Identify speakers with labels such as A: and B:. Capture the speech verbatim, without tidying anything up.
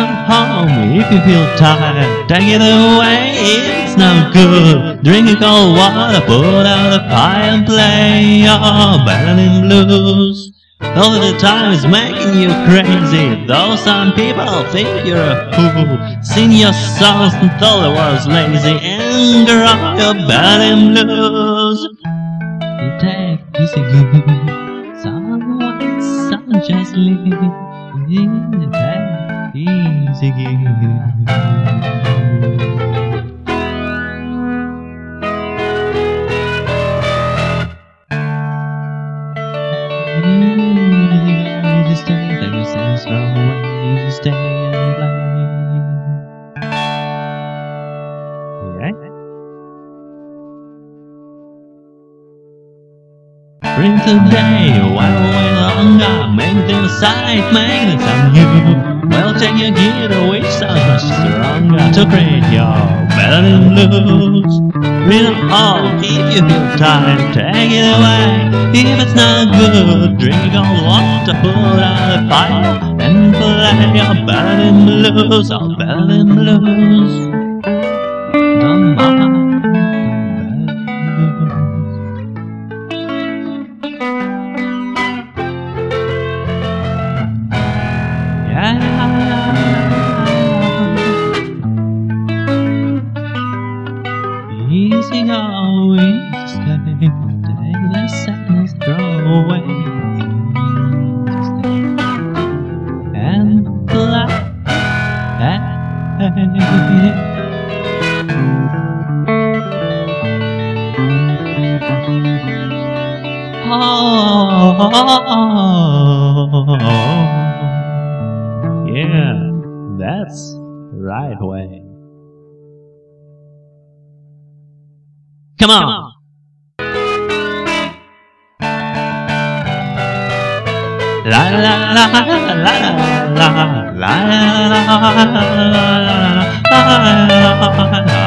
A: home if you feel tired. Take it away, it's no good. Drink a cold water, put out a fire and play your violin blues. All the time is making you crazy, though some people think you're a fool. Sing your songs until the world's lazy and grow your violin blues. You take this again, someone, someone just leave. You take this again. You stay, take your sense from away. You stay and play. Right? Bring today, while away longer. Make them sight, make them some new. Well, take your gear, which sounds much stronger to create your violin blues. Read them all if you feel tired, take it away. If it's not good, drink cold water, put out a fire and play your violin blues, our violin blues. Don't mind. Easy go, easy stay. Take the sadness, throw away. Easy stay and fly. Oh, yeah, that's the right way. Come on! La la la la la la la la la la la la la la